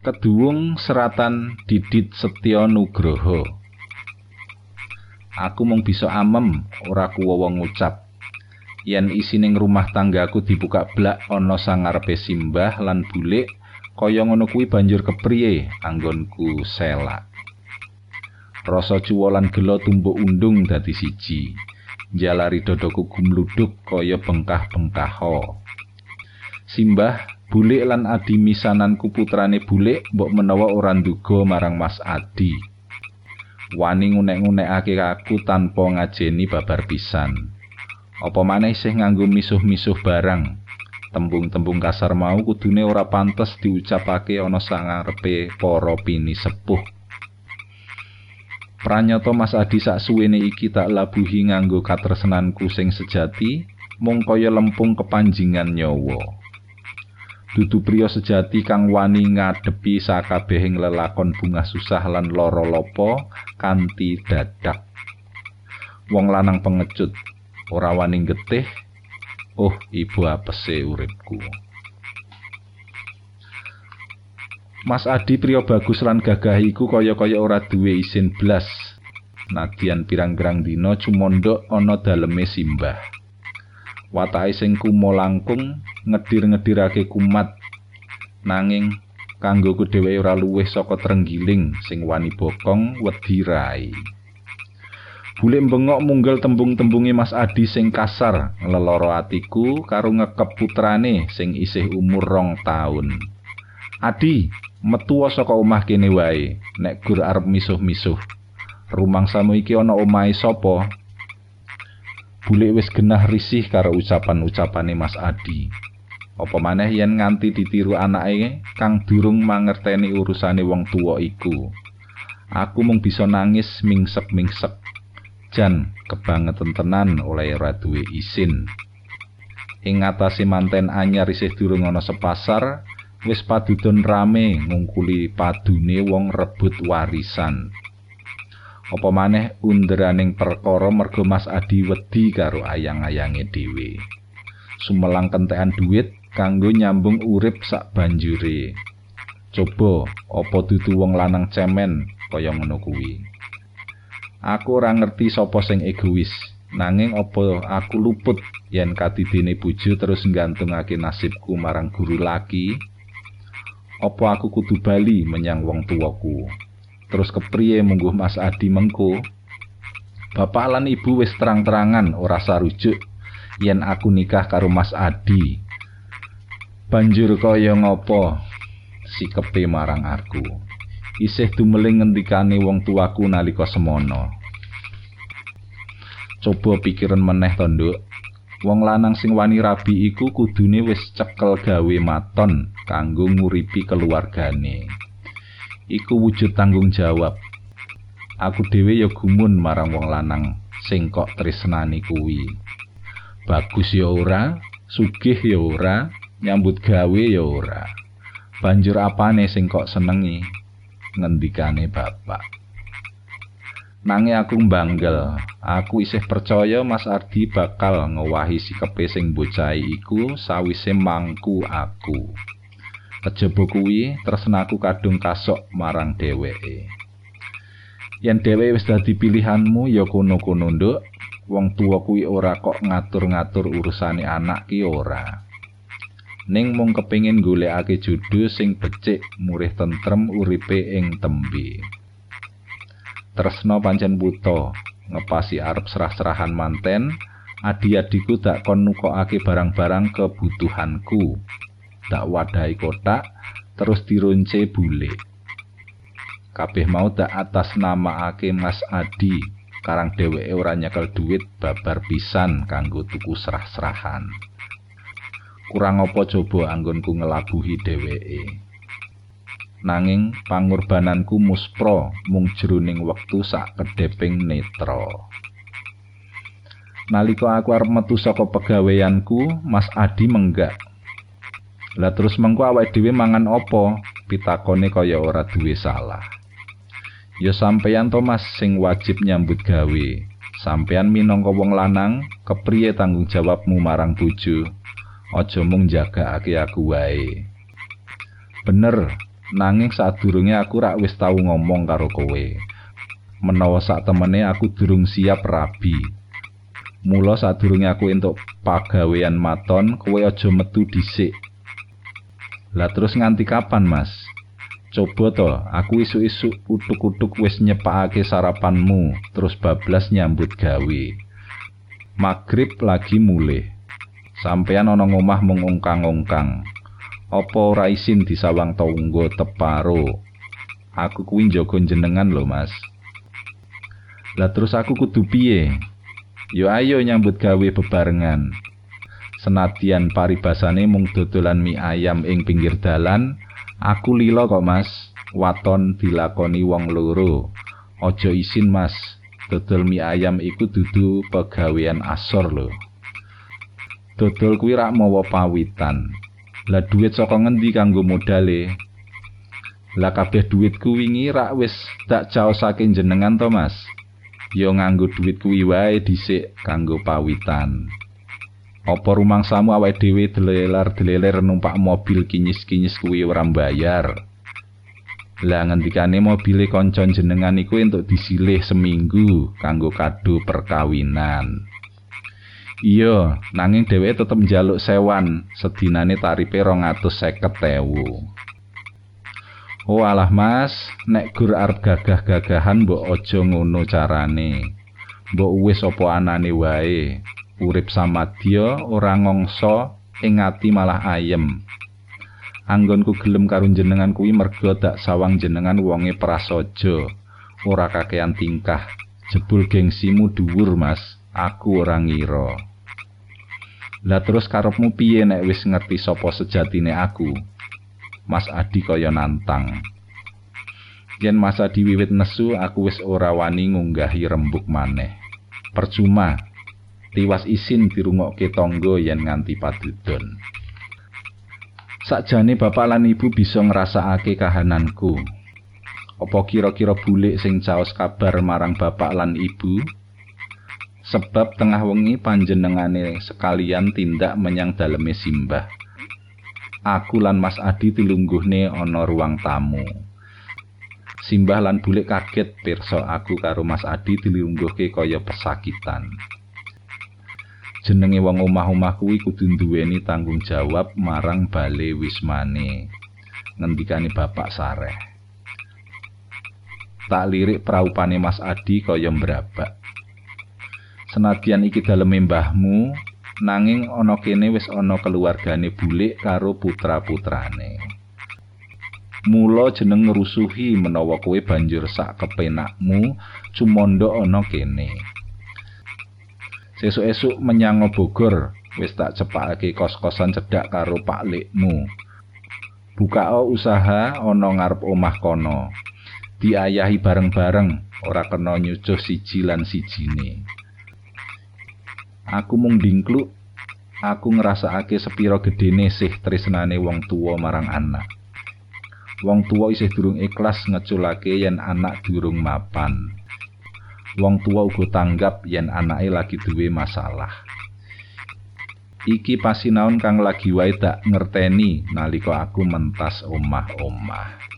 Keduwung seratan Didit Setyo Nugroho. Aku mung bisa amem, ora kuwowo ngucap. Yen isining rumah tanggaku dibuka blak ana sangarepe simbah lan bulik, kaya ngono kuwi banjur kepriye anggonku selak. Rasa cuwa lan gelo tumbuk undung dadi siji. Jalari dadaku gumludhuk kaya bengkah-bengkaho. Simbah, bulik lan adi misananku putrane bulik mbok menawa ora nduga marang Mas Adi. Wani ngunek-ngunekake aku tanpa ngajeni babar pisan. Apa maneh isih nganggo misuh-misuh barang. Tembung-tembung kasar mau kudune ora pantes diucapake ana sangarepe para pini sepuh. Pranyata Mas Adi saksuwene iki tak labuhi nganggo katresnanku sing sejati, mung kaya lempung kepanjingan nyawa. Dudu priya sejati kang wani ngadepi sakabehing lelakon bungah susah lan lara lopo kanthi dadak. Wong lanang pengecut, ora wani getih. Oh, ibu apese uripku. Mas Adi priya bagus lan gagah iku kaya-kaya ora duwe isin blas. Nadyan pirang-pirang dina cumondhok ana daleme simbah. Watake sing kumo langkung ngedir-ngedirake kumat. Nanging kanggoku dhewe ora luwih saka trenggiling sing wani bokong wedi rai. Bulik mbengok munggal tembung-tembunge Mas Adi sing kasar ngleloro atiku karo ngekep putrane sing isih umur 2 taun. Adi, metu saka omah kene wae, nek gur arep misuh-misuh. Rumangsamu iki ana omahe sapa? Bulik wis genah risih karo ucapan-ucapane Mas Adi. Apa maneh yen nganti ditiru anake kang durung mangerteni urusane wong tuwa iku. Aku mung bisa nangis mingsek-mingsek. Jan kebangetan tenan oleh ora duwe isin. Ing ngatasé manten anyar isih durung ana sepasar, wis padudon rame ngungkuli padune wong rebut warisan. Apa maneh underaning perkara merga Mas Adi wedi karo ayang-ayange dhewe. Sumelang kentekan dhuwit kanggo nyambung urip sak banjure. Coba apa dudu wong lanang cemen kaya ngono kuwi. Aku ora ngerti sapa sing egois, nanging apa aku luput yen kadidene bojo terus nggantungake nasibku marang guru laki? Apa aku kudu bali menyang wong tuwaku? Terus kepriye mungguh Mas Adi mengko? Bapak lan ibu wis terang-terangan ora sarujuk yen aku nikah karo Mas Adi. Banjur kaya ngopo sikepe marang aku? Isih dumeling ngendikane wong tuaku nalika semono. Coba pikiran meneh to, Nduk. Wong lanang sing wani rabi iku kudune wis cekel gawe maton kanggo nguripi keluargane. Iku wujud tanggung jawab. Aku dhewe ya gumun marang wong lanang sing kok tresnani kuwi. Bagus ya ora, sugih ya ora, nyambut gawe ya ora. Banjur apane sing kok senengi? Ngendikane bapak. Nanging aku mbanggel, aku isih percaya Mas Adi bakal ngowahi sikepe sing bocahe iku sawise mangku aku. Kejaba kuwi tresnaku kadung kasok marang dheweke. Yen dheweke wis dadi pilihanmu ya kono-kono, Nduk. Wong tuwa kuwi ora kok ngatur-ngatur urusane anak ki ora. Ning mung kepengin golekake jodoh sing becik, murih tentrem uripe ing tembe. Tresna pancen buta, ngepasi arep serah-serahan manten, adi-adiku tak kon nukokake barang-barang kebutuhanku. Tak wadahi kotak, terus dirunce bulik. Kabeh mau tak atas namaake Mas Adi, karang dheweke ora nyekel duit babar pisan kanggo tuku serah-serahan. Kurang apa coba anggonku ngelabuhi dheweke. Nanging pangorbananku muspra mung jroning wektu sak kedheping netra. Nalika aku arep metu saka pegaweanku, Mas Adi menggak. Lah terus mengko awake dhewe mangan apa? Pitakone kaya ora duwe salah. Ya sampeyan to Mas sing wajib nyambut gawe. Sampeyan minangka wong lanang, kepriye tanggung jawabmu marang bojo? Aja mung jagakake aku wae. Bener, Nanging sadurunge aku rak wis tau ngomong karo kowe. Menawa sak temene aku durung siap rabi. Mula sadurunge aku entuk pagawean maton, kowe aja metu dhisik. Lah terus nganti kapan, Mas? Coba to, aku isuk-isuk utuk-utuk wis nyepakake sarapanmu, terus bablas nyambut gawe. Magrib lagi mulih. Sampeyan ana ngomah mung ongkang-ongkang. Apa ora isin disawang tangga teparo? Aku kuwi njaga jenengan lho, Mas. Lah terus aku kudu piye? Yo ayo nyambut gawe bebarengan. Senadyan paribasane mung dodolan mie ayam ing pinggir dalan, aku lila kok, Mas. Waton dilakoni wong loro. Aja isin, Mas. Dodol mie ayam iku dudu pegawean asor lho. Dodol kuwi rak mawa pawitan. Lah duit saka ngendi kanggo modale? Lah kabeh duitku wingi rak wis tak caosake jenengan to, Mas. Ya nganggo duit kuwi wae dhisik kanggo pawitan. Apa rumangsamu awake dhewe deleler-deleler numpak mobil kinyis-kinyis kuwi ora mbayar? Lah ngendikane mobile kanca jenengan iku entuk disilih seminggu kanggo kado perkawinan. Iya, nanging dheweke tetep njaluk sewan, sedinane tarife 250.000. Oh alah Mas, nek gur arep gagah-gagahan mbok aja ngono carane. Mbok wis apa anane wae. Urip samadya ora ngongso, ing ati malah ayem. Anggonku gelem karo jenengan kuwi merga dak sawang jenengan wonge prasaja, ora kakean tingkah. Jebul gengsimu dhuwur, Mas. Aku ora ngira. Lah terus karepmu piye nek wis ngerti sapa sejatine aku? Mas Adi kaya nantang. Yen Mas Adi wiwit nesu, aku wis ora wani ngunggahi rembug maneh. Percuma. Tiwas isin dirungokke tangga yen nganti padudon. Sakjane bapak lan ibu bisa ngrasakake kahananku. Apa kira-kira bulik sing caos kabar marang bapak lan ibu? Sebab tengah wengi panjenengane sekalian tindak menyang daleme simbah. Aku lan Mas Adi dilungguhne ana ruang tamu. Simbah lan bulik kaget pirsa aku karo Mas Adi dilungguhke kaya pesakitan. Jenenge wong omah-omah kuwi kudu duweni tanggung jawab marang bale wismane. Ngendikane bapak sareh. Tak lirik praupane Mas Adi kaya mbrabak. Senadyan iki daleme mbahmu, nanging ana kene wis ana keluargane bulik karo putra-putrane. Mula jeneng ngrusuhi menawa kowe banjur sak kepenakmu cumandha ana kene. Sesuk-esuk menyang Bogor, wis tak cepakake kos-kosan cedhak karo Pak Likmu. Bukao usaha ana ngarep omah kono. Diayahi bareng-bareng, ora kena nyucuh siji lan sijine. Aku mung dingkluk, aku ngrasakake sepira gedene sih tresnane wong tuwa marang anak. Wong tuwa isih durung ikhlas ngeculake yen anak durung mapan. Wong tuwa uga tanggap yen anake lagi duwe masalah. Iki pasinaon kang lagi wae tak ngerteni nalika aku mentas omah-omah.